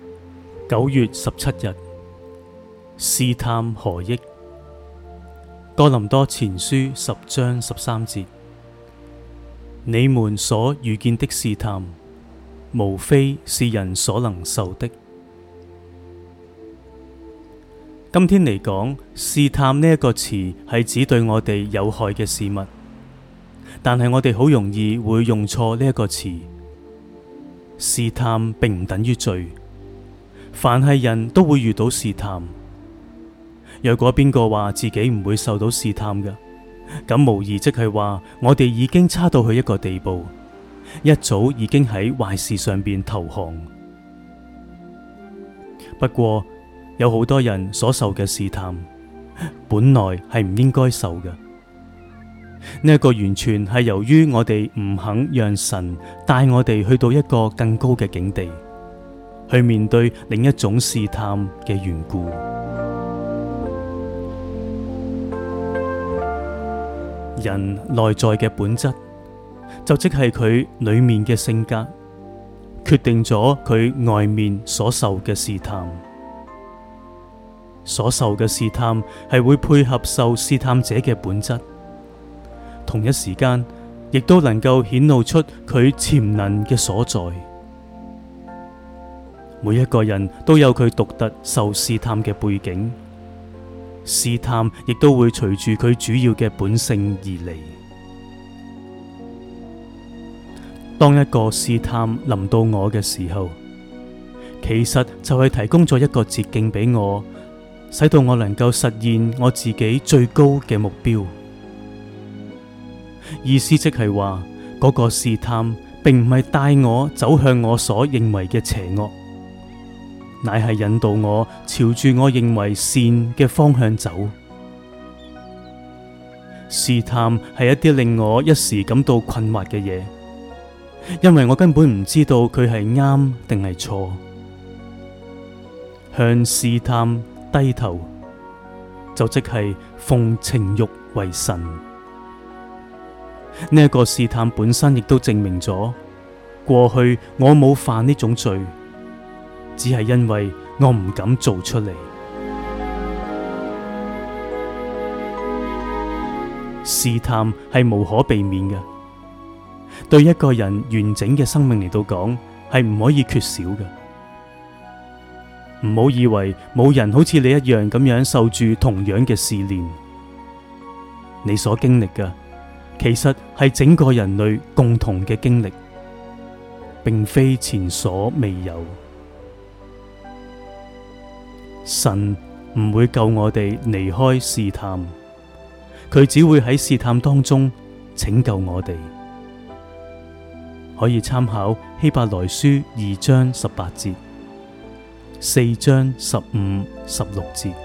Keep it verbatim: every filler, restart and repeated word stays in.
九月十七日，試探何益？哥林多前書十章十三節：你們所遇見的試探，無非是人所能受的。今天嚟講，試探呢一個詞係指對我哋有害嘅事物，但係我哋好容易會用錯呢一個詞。試探並唔等於罪。凡係人都會遇到試探。若果邊個話自己唔會受到試探嘅，咁無疑即係話我哋已經差到去一個地步，一早已經喺壞事上邊投降。不過有好多人所受嘅試探，本來係唔應該受嘅。呢一個完全係由於我哋唔肯讓神帶我哋去到一個更高嘅境地，去面對另一種試探嘅緣故。人內在嘅本質，就即係佢裏面嘅性格，決定咗佢外面所受嘅試探。所受嘅試探係會配合受試探者嘅本質，同一時間亦都能夠顯露出佢潛能嘅所在。每一個人都有佢獨特受試探嘅背景，試探亦都會隨住佢主要嘅本性而嚟。當一個試探臨到我嘅時候，其實就係提供咗一個捷徑俾我，使到我能夠實現我自己最高嘅目標。意思即係話，嗰個試探並唔係帶我走向我所認為嘅邪惡，乃係引導我朝住我認為善嘅方向走。試探係一啲令我一時感到困惑嘅嘢，因為我根本唔知道佢係啱定係錯。向試探低頭，就即係奉情慾為神。呢一個試探本身亦都證明咗，過去我冇犯呢種罪，只係因為我唔敢做出嚟。試探係無可避免嘅，對一個人完整嘅生命嚟到講，係唔可以缺少嘅。唔好以為冇人好似你一樣咁樣受住同樣嘅試煉，你所經歷嘅其實係整個人類共同嘅經歷，並非前所未有。神唔會救我哋離開試探，佢只會喺試探當中拯救我哋。可以參考希伯來書二章十八節、四章十五、十六節。